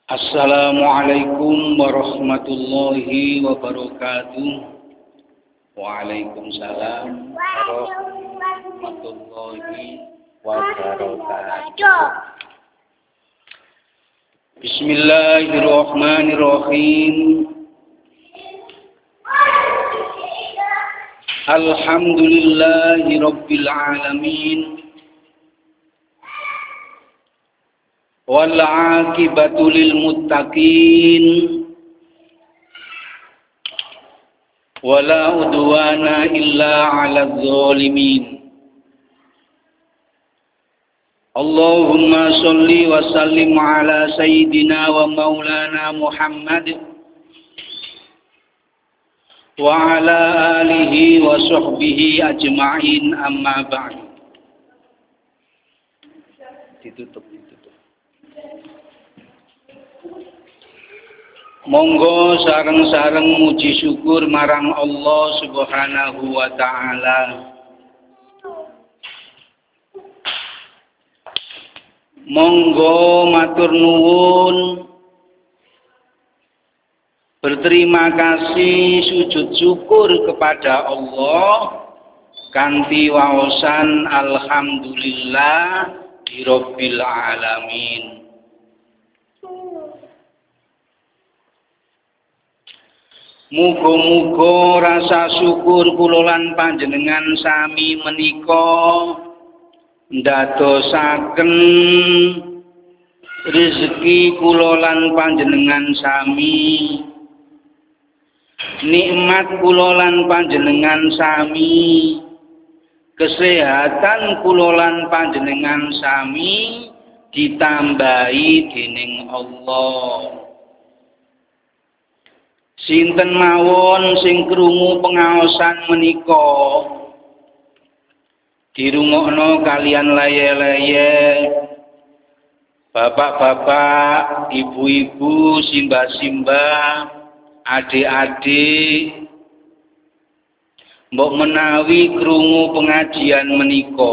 Assalamualaikum warahmatullahi wabarakatuh. Waalaikumsalam warahmatullahi wabarakatuh. Bismillahirrahmanirrahim. Alhamdulillahi rabbil alamin. Wal 'aqibatu lil muttaqin wala udwana illa 'alal zalimin. Allahumma shalli wa sallim ala sayyidina wa maulana Muhammad wa ala alihi wa sahbihi ajma'in, amma ba'd. Ditutup. Monggo sareng-sareng muji syukur marang Allah Subhanahu wa ta'ala. Monggo matur nuwun, berterima kasih, sujud syukur kepada Allah kanthi waosan alhamdulillah rabbil alamin. Muga-muga rasa syukur kula lan panjenengan sami menika ndadosaken rezeki kula lan panjenengan sami, nikmat kula lan panjenengan sami, kesehatan kula lan panjenengan sami ditambahi dening Allah. Sinten mawon sing krungu pengaosan menika dirungokno kalian laye-laye, bapak-bapak, ibu-ibu, simbah-simbah, adik-adik, mbok menawi krungu pengajian menika,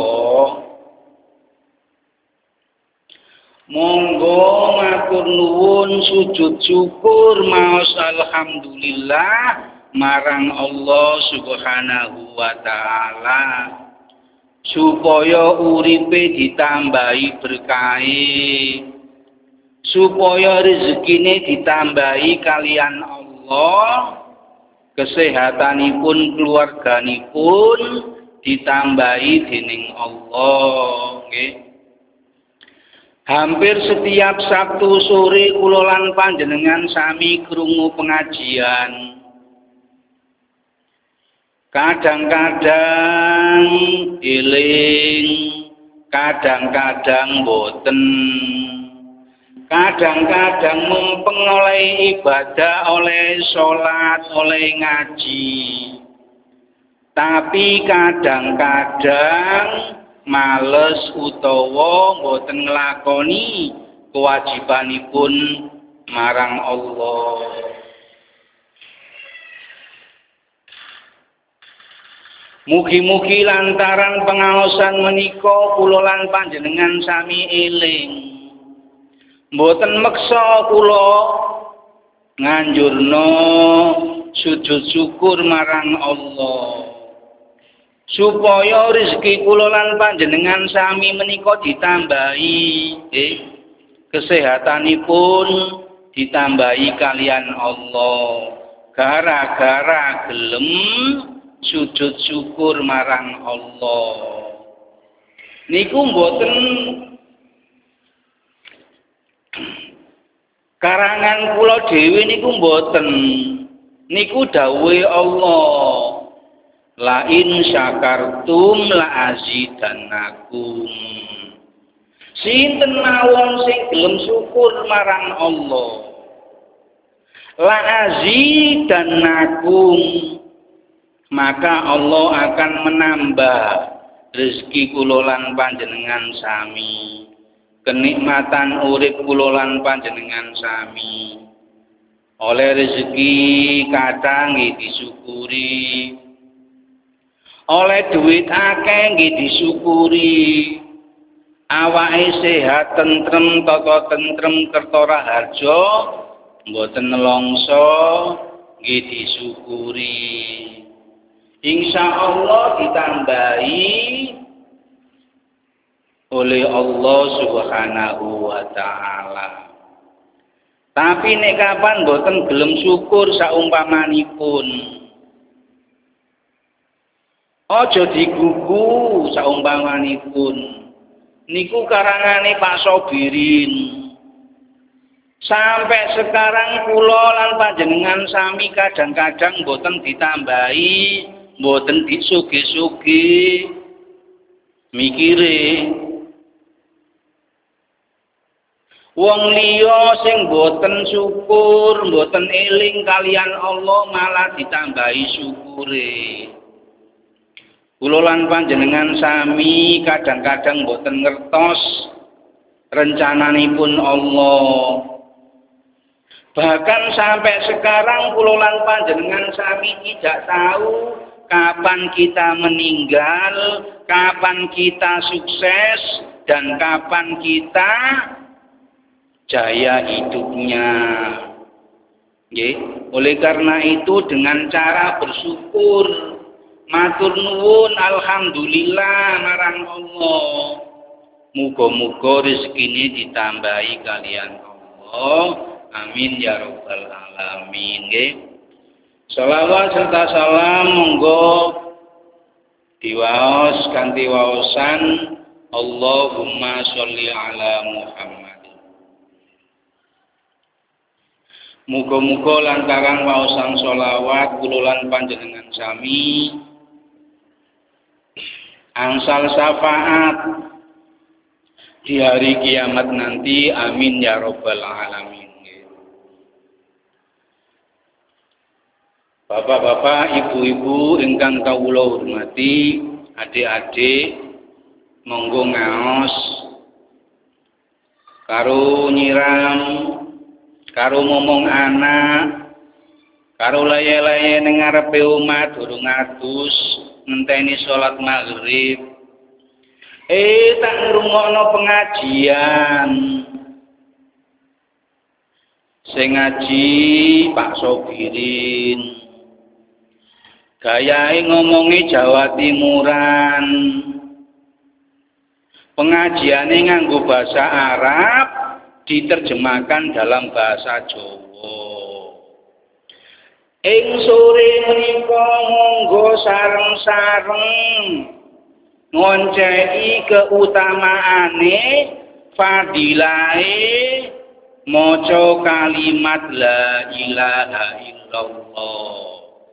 monggo matur nuwun sujud syukur maos alhamdulillah marang Allah Subhanahu wa ta'ala supaya uripe ditambahi berkahe, supaya rezekine ditambahi kalian Allah, kesehatanipun keluarganipun ditambahi dening Allah, nggih. Hampir setiap Sabtu sore kula lan panjenengan sami krungu pengajian. Kadang-kadang eling, kadang-kadang boten. Kadang-kadang mumpeng oleh ibadah, oleh sholat, oleh ngaji. Tapi kadang-kadang males utawa mboten nglakoni kewajibanipun marang Allah. Mugi-mugi lantaran pengaosan menika kula lan panjenengan sami eling, mboten meksa kula nganjurna sujud syukur marang Allah, supaya rezeki kula lan panjenengan sami menika ditambahi, kesehatanipun ditambahi kalian Allah, gara-gara gelem sujud syukur marang Allah. Niku mboten karangan kula dhewe, niku mboten, niku dawuhe Allah. La in syakartum la azidannakum. Sinten mawon sing gelem syukur marang Allah, la azidannakum, maka Allah akan menambah rezeki kula lan panjenengan sami, kenikmatan urip kula lan panjenengan sami. Oleh rezeki kadang nggih disyukuri, oleh duit akeh nggih disyukuri, awake sehat tentrem tata tentrem kerta raharja mboten nelongso nggih disyukuri. Insyaallah ditambahi oleh Allah Subhanahu wa taala. Tapi nek kapan mboten gelem syukur saumpamanipun, aja digugu saumpamanipun. Niku karangane Pak Sobirin. Sampai sekarang kula lan panjenengan sami kadang-kadang mboten ditambahi, mboten disugi-sugi mikire. Wong liya sing mboten syukur, mboten eling kalian Allah malah ditambahi syukure. Kula lan panjenengan sami kadang-kadang mboten ngertos rencananipun Allah. Bahkan sampai sekarang kula lan panjenengan sami tidak tahu kapan kita meninggal, kapan kita sukses, dan kapan kita jaya hidupnya. Oleh karena itu dengan cara bersyukur, matur nuwun alhamdulillah marang Allah. Muga-muga rezekine ditambahi kalian Allah. Amin ya rabbal alamin. Shalawat serta salam monggo diwaos kanthi waosan Allahumma sholli ala Muhammad. Muga-muga lantaran waosan sholawat kula lan panjenengan sami angsal syafaat di hari kiamat nanti. Amin ya rabbal alamin. Bapak-bapak, ibu-ibu ingkang kawula hormati, adik-adik monggo ngaos karo nyiram, karo ngomong anak, karo laye-laye ning ngarepe omah durung adus ngenteni salat maghrib. Tak ngrungokno pengajian. Sing ngaji Pak Sobirin. Gayahe ngomongi Jawa Timuran. Pengajiane nganggo bahasa Arab diterjemahkan dalam bahasa Jawa. Ing sore menika monggo sareng-sareng ngonceki keutamaane fadilahe maca kalimat la ilaha illallah.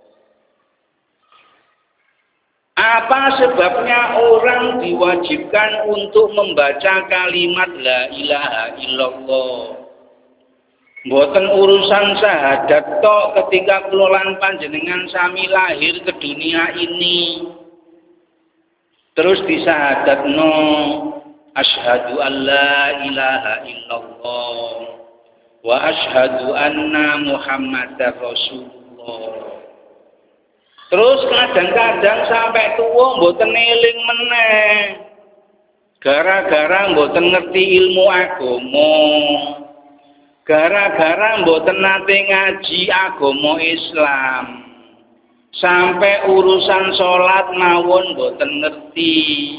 Apa sebabnya orang diwajibkan untuk membaca kalimat la ilaha illallah? Mboten urusan syahadat tok ketika kula lan panjenengan sami lahir ke dunia ini. Terus disahadatno asyhadu an la ilaha illallah wa asyhadu anna Muhammadar Rasulullah. Terus kadang-kadang sampai tua mboten eling meneh. Gara-gara mboten ngerti ilmu agama. Gara-gara mboten nate ngaji agama Islam. Sampai urusan salat mawon mboten ngerti.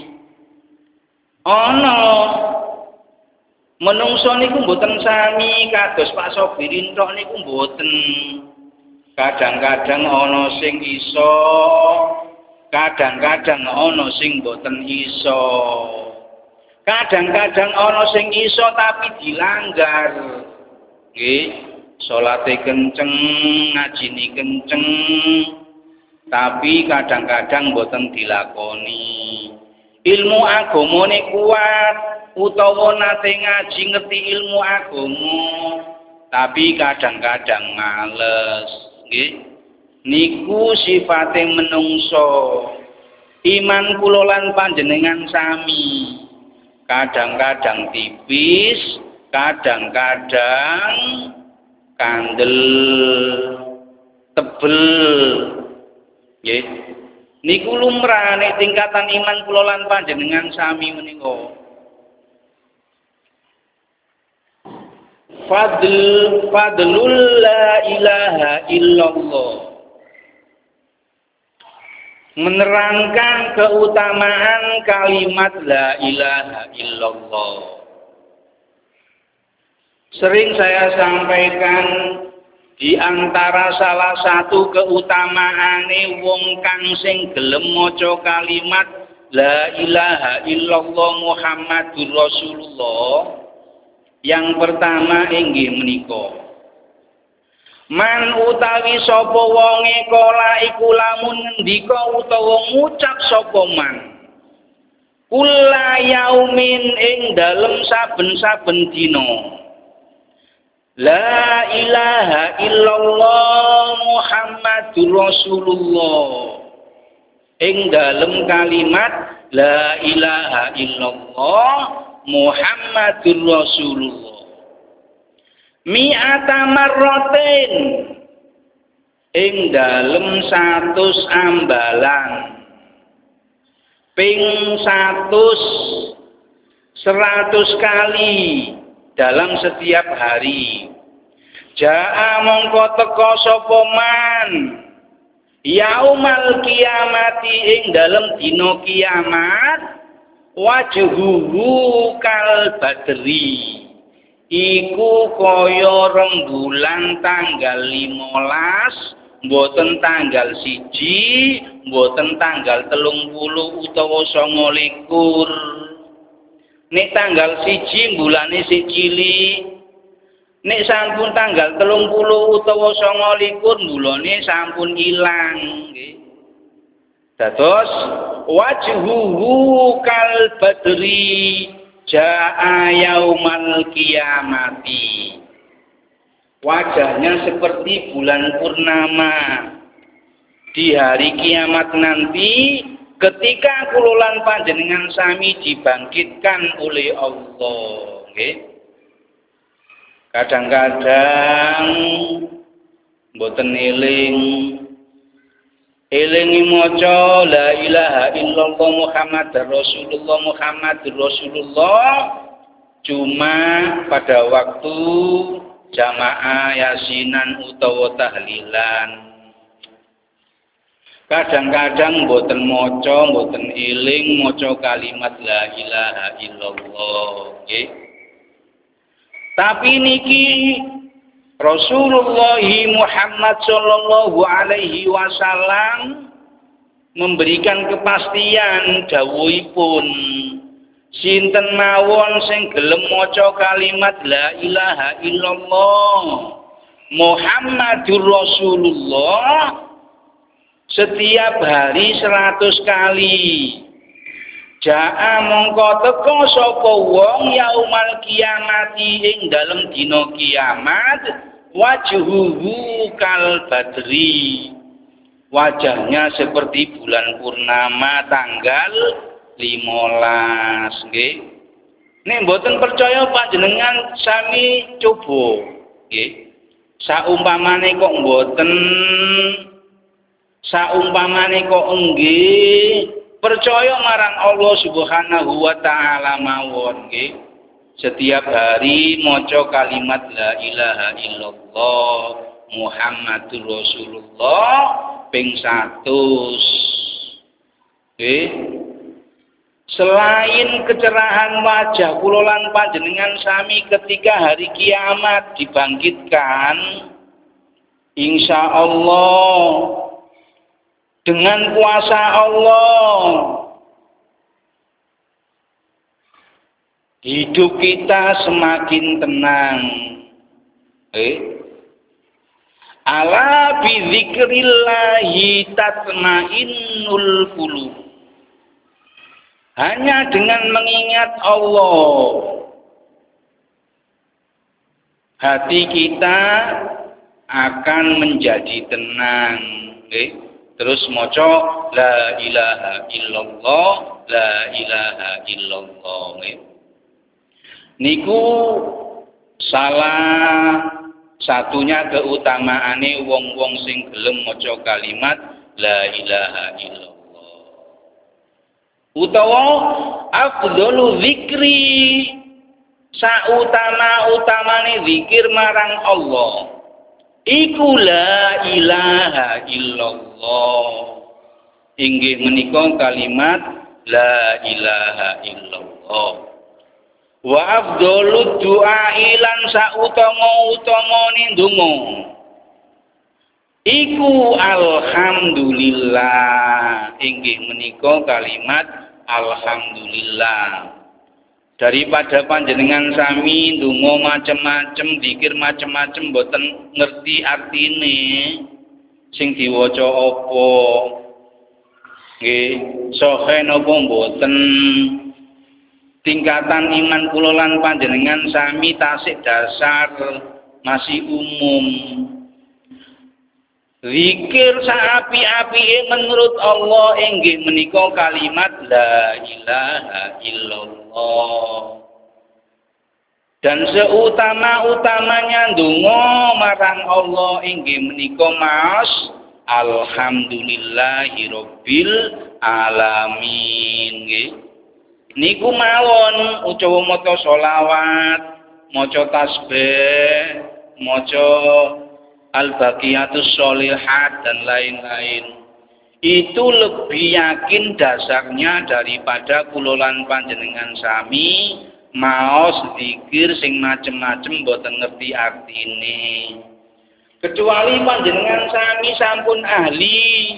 Ana menungso niku mboten sami kados Pak Sobirin tok niku mboten. Kadang-kadang ana sing iso, kadang-kadang ana sing mboten iso. Kadang-kadang ana sing iso tapi dilanggar. Nggih, salate kenceng, ngajine kenceng, tapi kadang-kadang mboten dilakoni. Ilmu agamane kuat utawa nate ngaji ngerti ilmu agama, tapi kadang-kadang males. Niku sifate menungso. Iman kula lan panjenengan sami. Kadang-kadang tipis, kadang-kadang kandel, tebel. Nggih. Niku lumrah nek tingkatan iman kula lan panjenengan sami menika. Fadlul la ilaha illallah. Menerangkan keutamaan kalimat la ilaha illallah. Sering saya sampaikan di antara salah satu keutamaane wong kang sing gelem maca kalimat la ilaha illallah Muhammadur Rasulullah, yang pertama inggih menika man utawi sapa wonge kala iku lamun ngendika utawa ngucap sapa man kula yaumin ing dalem saben-saben dina la ilaha illallah Muhammadur Rasulullah, ing dalem kalimat la ilaha illallah Muhammadur Rasulullah mi'ata marratin, ing dalem 100 ambalan, ping 100 kali dalam setiap hari. Ja'a mongko teka sapa man yaumal kiamati, ing dalem dina kiamat wajhuhu kal badri, iku kaya rembulan tanggal 15, mboten tanggal 1, mboten tanggal 30 utawa 29. Nek tanggal 1 bulane sik cilik, nek sampun tanggal 30 utawa 29 bulane sampun ilang nggih. Dados wajhuhu kal badri ja'a yaumal kiamati, wajahnya seperti bulan purnama di hari kiamat nanti, ketika kululan panjenengan sami dibangkitkan oleh Allah nggih. Kadang-kadang mboten elingi maca la ilaha illallah Muhammadur Rasulullah, Muhammadur Rasulullah cuma pada waktu jamaah yasinan utawa tahlilan. Kadang-kadang mboten maca, mboten eling maca kalimat la ilaha illallah nggih. Tapi niki Rasulullah Muhammad sallallahu alaihi wasallam memberikan kepastian dawuhipun, sinten mawon sing gelem maca kalimat la ilaha illallah Muhammadur Rasulullah setiap hari 100 kali, ja'a mongko teka sapa wong yaumal kiamati, ing dalem dina kiamat wajhuhu kal badri, wajahnya seperti bulan purnama tanggal 15 nggih. Nek mboten percaya panjenengan sami coba nggih. Saumpamane kok mboten, saumpamane kok nggih, percaya marang Allah Subhanahu wa taala mawon nggih. Setiap hari maca kalimat la ilaha illallah Muhammadur Rasulullah ping 100 nggih. Selain kecerahan wajah kula lan panjenengan sami ketika hari kiamat dibangkitkan, insya Allah dengan kuasa Allah hidup kita semakin tenang. Ala bi dzikrillahi tatmainnul qulub. Hanya dengan mengingat Allah, hati kita akan menjadi tenang. Terus maca la ilaha illallah, la ilaha illallah. Niku salah satunya keutamaane wong-wong sing gelem maca kalimat la ilaha illallah. Utawa afdhalu dzikri sautama-utamane zikir marang Allah iku la ilaha illallah. Inggih menika kalimat la ilaha illallah. Wa afdhalud du'a lan sautama-utamane ndonga iku alhamdulillah. Inggih menika kalimat alhamdulillah. Daripada panjenengan sami ndonga macem-macem, zikir macem-macem boten ngerti artine sing diwaca apa. Nggih, sahe napa mboten? Tingkatan iman kula lan panjenengan sami tasik dasar masih umum. Zikir saapi-apike menurut Allah inggih menika kalimat la ilaha illallah. Dan seutama-utamanya ndonga marang Allah inggih menika mas alhamdulillahirabbil alamin nggih. Niku mawon utawa maca selawat, maca tasbih, maca al-baqiyatus sholihat dan lain-lain. Itu lebih yakin dasarnya daripada kula lan panjenengan sami maos zikir sing macem-macem boten ngerti artine. Kecuali panjenengan sami sampun ahli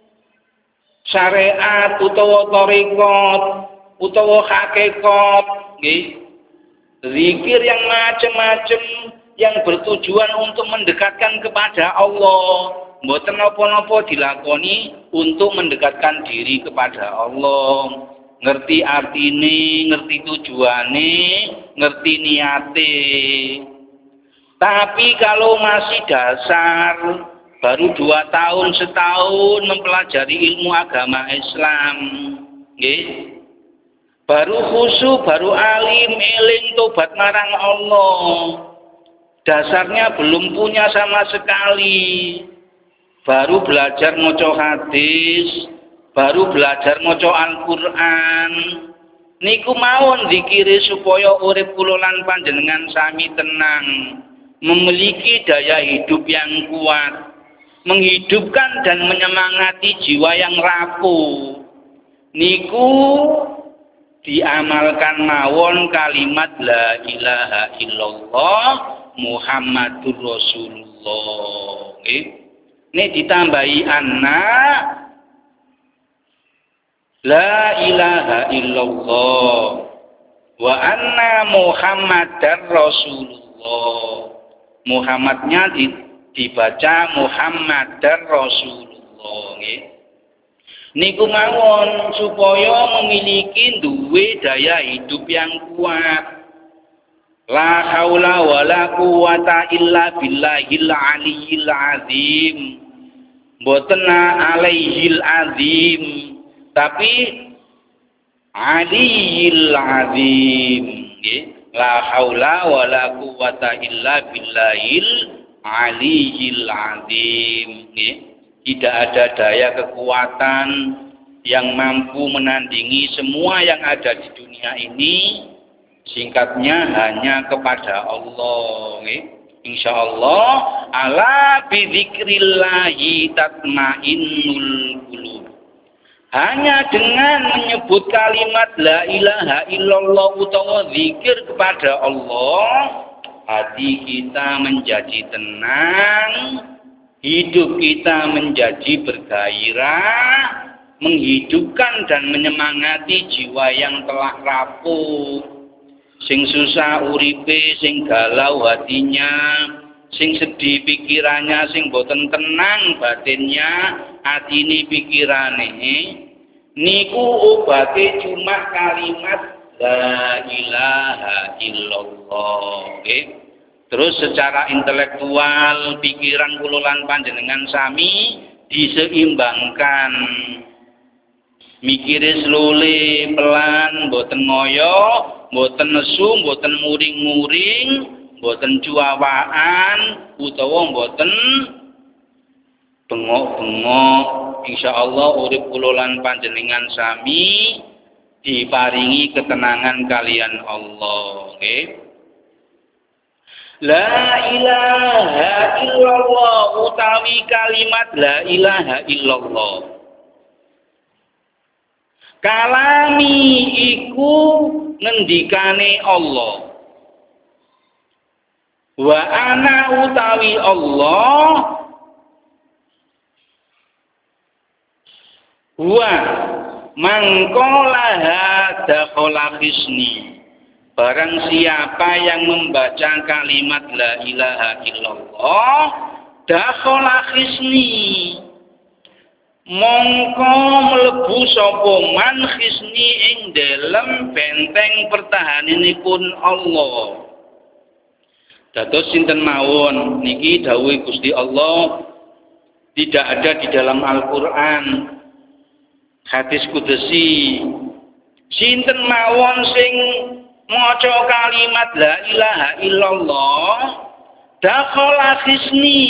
syariat utawa thariqat utawa hakikat nggih. Zikir yang macem-macem yang bertujuan untuk mendekatkan kepada Allah, mboten napa-napa dilakoni untuk mendekatkan diri kepada Allah. Ngerti artine, ngerti tujuane, ngerti niate. Tapi kalau masih dasar, baru 2 tahun setahun mempelajari ilmu agama Islam, nggih. Baru khusyuk, baru alim, eling tobat marang Allah. Dasarnya belum punya sama sekali. Baru belajar maca hadis, baru belajar maca Al-Qur'an. Niku mawon zikire supaya urip kula lan panjenengan sami tenang, memiliki daya hidup yang kuat, menghidupkan dan menyemangati jiwa yang rapuh. Niku diamalkan mawon kalimat la ilaha illallah Muhammadur Rasulullah. Ini ditambahi anna la ilaha illallah wa anna Muhammadar Rasulullah. Muhammadnya dibaca Muhammadar Rasulullah. Niku mawon supaya memiliki duwe daya hidup yang kuat. La haula wala quwata illa billahil aliyil azim. Mboten alaihil azim, tapi aliyil azim nggih. La haula wala quwata illa billahil aliyil azim nggih. Tidak ada daya kekuatan yang mampu menandingi semua yang ada di dunia ini. Singkatnya hanya kepada Allah. Insyaallah ala bidzikrillahi tatmainnul qulub. Hanya dengan menyebut kalimat la ilaha illallah utawa zikir kepada Allah, hati kita menjadi tenang, hidup kita menjadi bergairah, menghidupkan dan menyemangati jiwa yang telah rapuh. Sing susah uripe, sing galau hatinya, sing sedih pikirannya, sing boten tenang batinnya, atine pikirane. Niku obate cuma kalimat la ilaha illallah. Terus secara intelektual pikiran kula lan panjenengan sami diseimbangkan. Mikire slole pelan, boten ngoyo, boten nesu, boten muring-muring, boten cuawaan, utawa boten bengok-bengok. Insyaallah urip kula lan panjenengan sami diparingi ketenangan kalian Allah, nggih. La ilaha illallah utawi kalimat la ilaha illallah. Kalami iku ngendikane Allah. Wa ana utawi Allah wa mangkolaha dakhala hisni. Barang siapa yang membaca kalimat la ilaha illallah dakhala hisni, mongko mlebu sapa man hisni ing dalem benteng pertahananipun Allah. Dados sinten mawon niki dawuh Gusti Allah tidak ada di dalam Al-Qur'an, hadis qudsi. Sinten mawon sing maca kalimat la ilaha illallah dakhala hisni,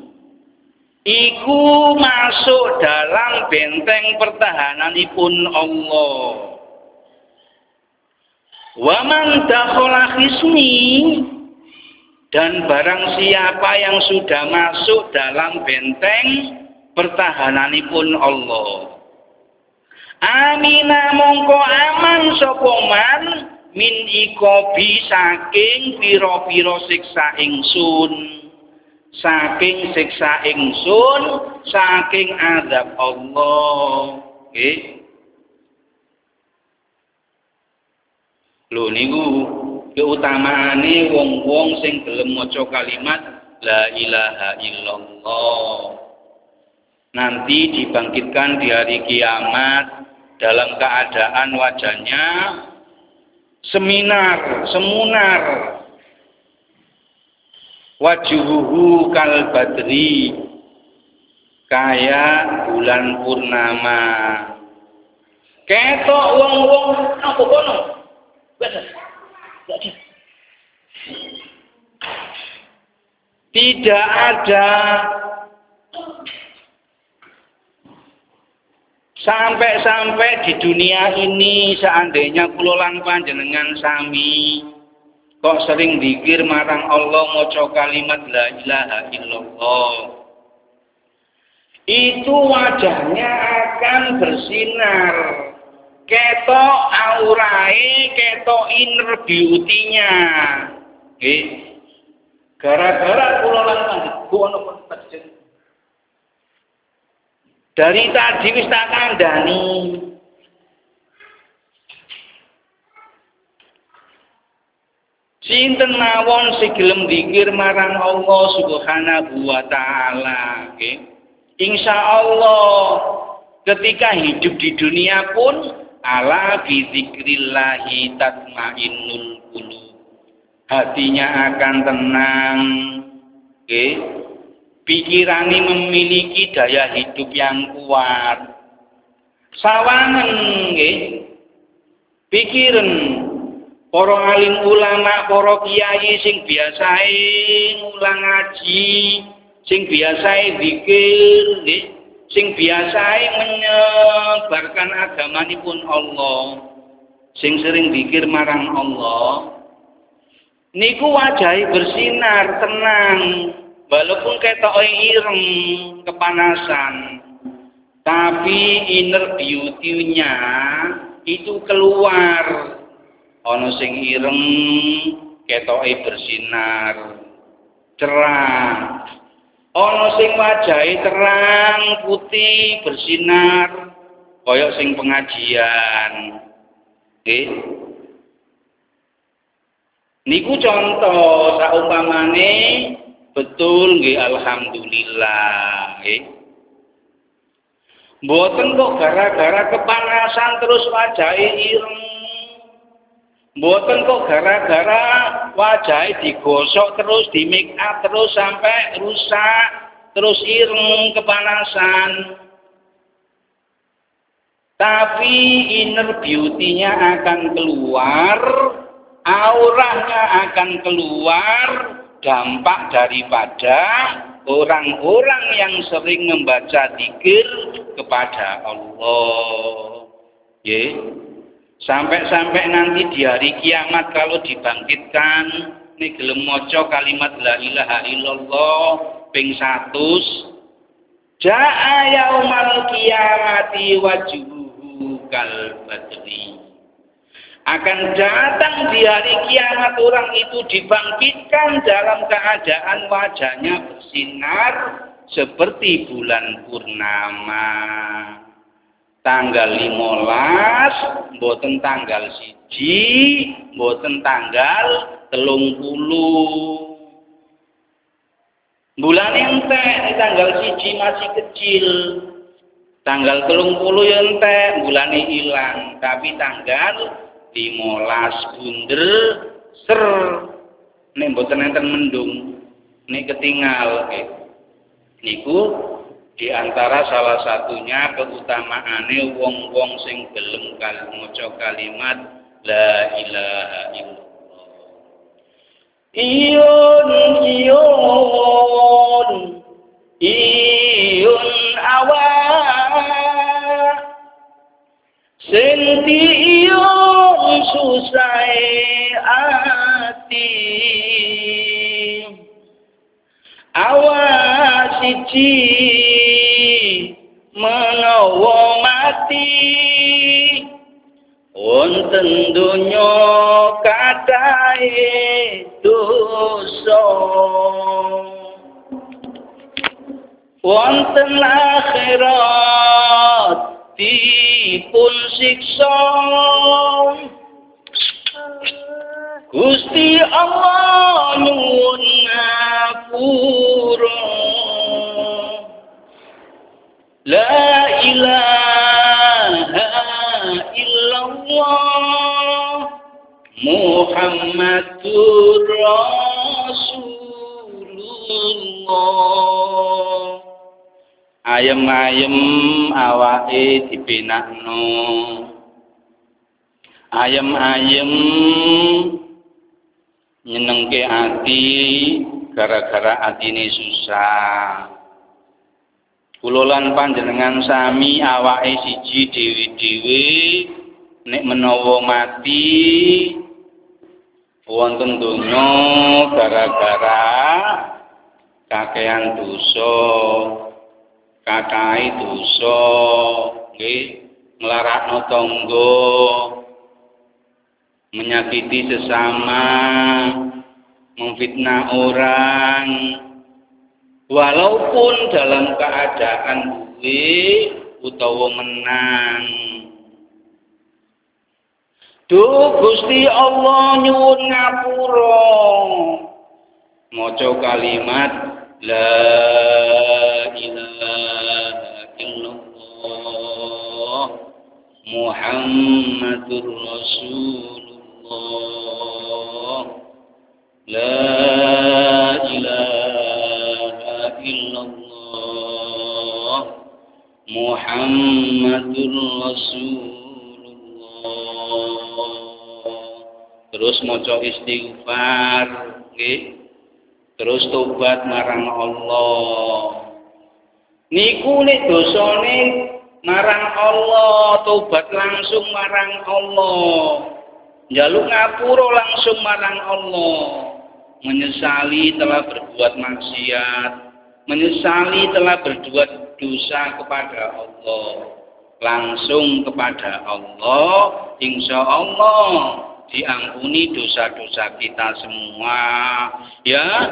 iku masuk dalam benteng pertahananipun Allah. Wa man dakhala hisni, dan barang siapa yang sudah masuk dalam benteng pertahananipun Allah, amina mongko aman sapa man min ikobi saking pira-pira siksa ingsun, saking siksa ingsun, saking azab Allah. Nggih. Lho niku keutamaane wong-wong sing gelem maca kalimat la ilaha illallah. Nanti dibangkitkan di hari kiamat dalam keadaan wajahnya semunar, wajuhuhu kal badri, kayak bulan purnama. Ketok wong-wong apa kono? Tidak ada sampai di dunia ini seandainya kula lan panjenengan sami kok sering zikir marang Allah maca kalimat la ilaha illallah, itu wajahnya akan bersinar, ketok aurae, ketok inner beauty-nya. Nggih. Gara-gara kula lan panjenengan dari tadi wis tak kandhani. Sinten mawon sing gelem zikir marang Allah Subhanahu wa taala, nggih. Insyaallah ketika hidup di dunia pun ala bi dzikrillahi tatmainnul qulub. Hatinya akan tenang, nggih. Pikirane memiliki daya hidup yang kuat. Sawangen nggih. Pikiran para alim ulama, para kiai sing biasae ngulang ngaji, sing biasae zikir, nggih, sing biasae menyebarkan agamanipun Allah, sing sering zikir marang Allah, niku wajahe bersinar, tenang. Walaupun ketoke ireng, kepanasan, tapi inner beauty-nya itu keluar. Ana sing ireng, ketoke bersinar, cerah. Ana sing wajahe terang, putih, bersinar, kaya sing pengajian. Nggih. Niku contoh saumpamane betul nggih, alhamdulillah nggih. Mboten kok gara-gara kepanasan terus wajahe ireng. Mboten kok gara-gara wajahe digosok terus, di make up terus sampai rusak, terus ireng kepanasan. Tapi inner beauty-nya akan keluar, auranya akan keluar, dampak daripada orang-orang yang sering membaca zikir kepada Allah. Sampai-sampai nanti di hari kiamat kalau dibangkitkan nek gelem maca kalimat la ilaha illallah ping 100 jaa yaumal qiyamati wajhuhu kal badri. Akan datang di hari kiamat orang itu dibangkitkan dalam keadaan wajahnya bersinar seperti bulan purnama. Tanggal 15, mboten tanggal 1, mboten tanggal 30. Bulan entek tanggal 1 masih kecil. Tanggal 30 ya entek, bulane ilang, tapi tanggal 15 bunder ser nek mboten enten mendung nek ketinggal niku di antara salah satunya keutamaane wong-wong sing gelem maca kalimat la ilaha illallah. Iyun awa senti iyun susai ati awas siji menawa mati wonten donya kadahe dosa wonten akhirat dipun siksa Gusti Allah nyuwun ngapura la ilaha illallah Muhammadur Rasulullah. Ayem-ayem awake dibenakno. Ayem-ayem nyenengke ati gara-gara atine susah. Kula lan panjenengan sami awake siji dhewe-dhewe nek menawa mati wonten donya gara-gara kakehan dosa, kakai dosa, nggih, nglarakno tangga, menyakiti sesama, memfitnah orang, walaupun dalam keadaan duwe utawa menang. Duh Gusti Allah nyuwun ngapura. Maca kalimat la ilaha illallah Muhammadur Rasulullah. La ilaha illallah Muhammadur Rasulullah. Terus maca istighfar, nggih. Terus tobat marang Allah. Niku nek dosane marang Allah, tobat langsung marang Allah. Njaluk ngapura langsung marang Allah. Menyesali telah berbuat maksiat, menyesali telah berbuat dosa kepada Allah. Langsung kepada Allah, insya Allah diampuni dosa-dosa kita semua. Ya,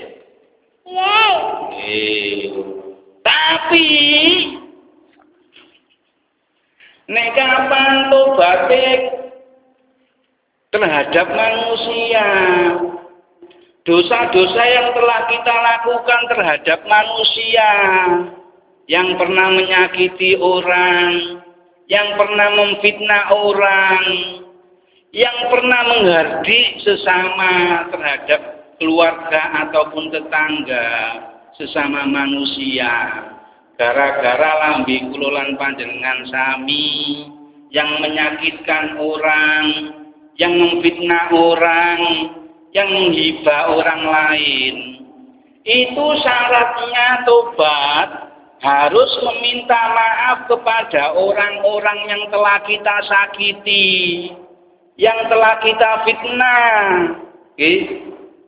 Tapi nek kapan tobaté terhadap manusia, dosa-dosa yang telah kita lakukan terhadap manusia, yang pernah menyakiti orang, yang pernah memfitnah orang, yang pernah menghardik sesama terhadap keluarga ataupun tetangga, sesama manusia, gara-gara lambe kula lan panjenengan sami yang menyakitkan orang, yang memfitnah orang, yang menghibah orang lain. Itu syaratnya tobat, harus meminta maaf kepada orang-orang yang telah kita sakiti, yang telah kita fitnah.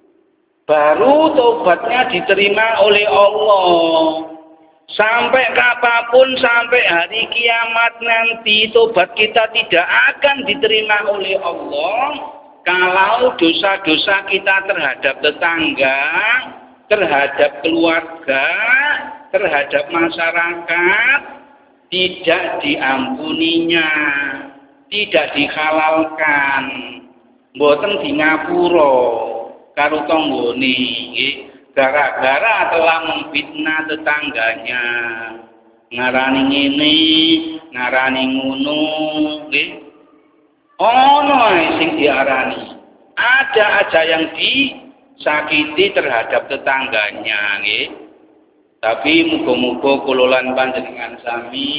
baru tobatnya diterima oleh Allah. Sampai kapanpun, sampai hari kiamat nanti, tobat kita tidak akan diterima oleh Allah kalau dosa-dosa kita terhadap tetangga, terhadap keluarga, terhadap masyarakat tidak diampuninya, tidak dihalalkan, mboten di ngapura karo tanggane nggih, gara-gara telah memfitnah tetangganya, ngarani ngene, ngarani ngono nggih. Ono ae sing diarani. Ada aja yang disakiti terhadap tetangganya nggih. Tapi muga-muga kula lan panjenengan sami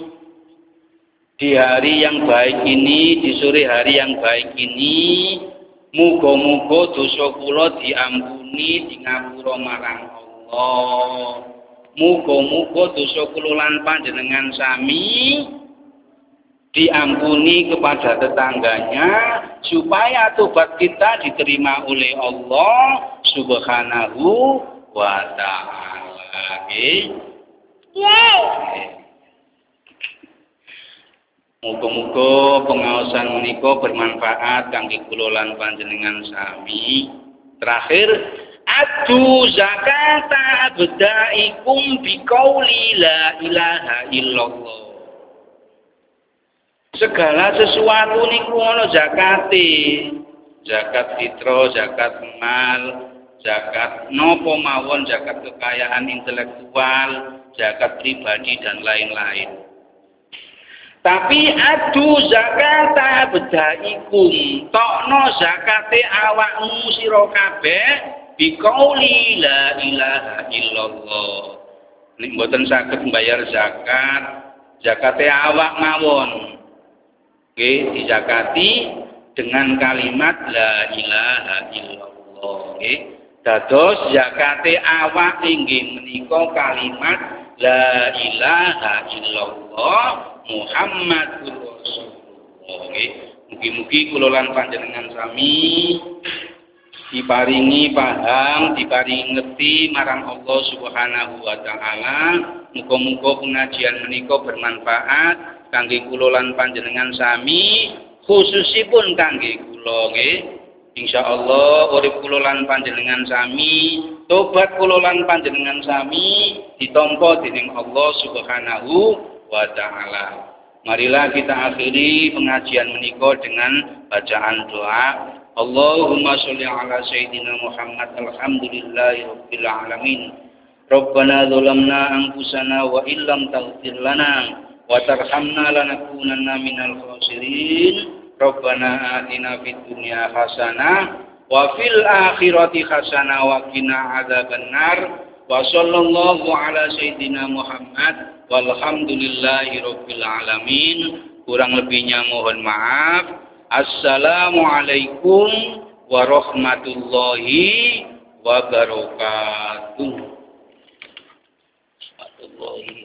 di hari yang baik ini, di sore hari yang baik ini, muga-muga dosa kula diampuni di ngapura marang Allah. Muga-muga dosa kula lan panjenengan sami diampuni kepada tetangganya supaya tobat kita diterima oleh Allah Subhanahu wa ta'ala. Muga-muga pengaosan menika bermanfaat kangge kula lan panjenengan sami. Terakhir, adu zakata abdaikum biqauli la ilaha illallah. Segala sesuatu niku ana zakate. Zakat fitro, zakat mal, zakat nopo mawon, zakat kekayaan intelektual, zakat pribadi dan lain-lain. Tapi adu zakata bedaikum, tokno zakate awakmu sira kabeh biqauli la ilaha illallah. Nek mboten saged mbayar zakat, zakate awak mawon. Nggih, dizakati dengan kalimat la ilaha illallah nggih. Dados zakate awak inggih menika kalimat la ilaha illallah Muhammadur Rasulullah nggih. Mugi-mugi kula lan panjenengan sami diparingi paham, diparingi ngerti marang Allah Subhanahu wa taala. Muga-muga pengajian menika bermanfaat kangge kula lan panjenengan sami, khususipun kangge kula nggih. Insyaallah urip kula lan panjenengan sami, tobat kula lan panjenengan sami ditampa dening Allah Subhanahu wa taala. Marilah kita akhiri pengajian menika dengan bacaan doa. Allahumma sholli ala sayyidina Muhammad alhamdulillahirabbil alamin. Rabbana dzalamna anfusana wa illam taghfir lana wa tarhamna lanakunanna minal khasirin. Rabbana atina fid dunya hasanah wa fil akhirati hasanah wa qina adzabannar. Wa sallallahu ala sayyidina Muhammad walhamdulillahi rabbil alamin. Kurang lebihnya mohon maaf. Assalamualaikum warahmatullahi wabarakatuh.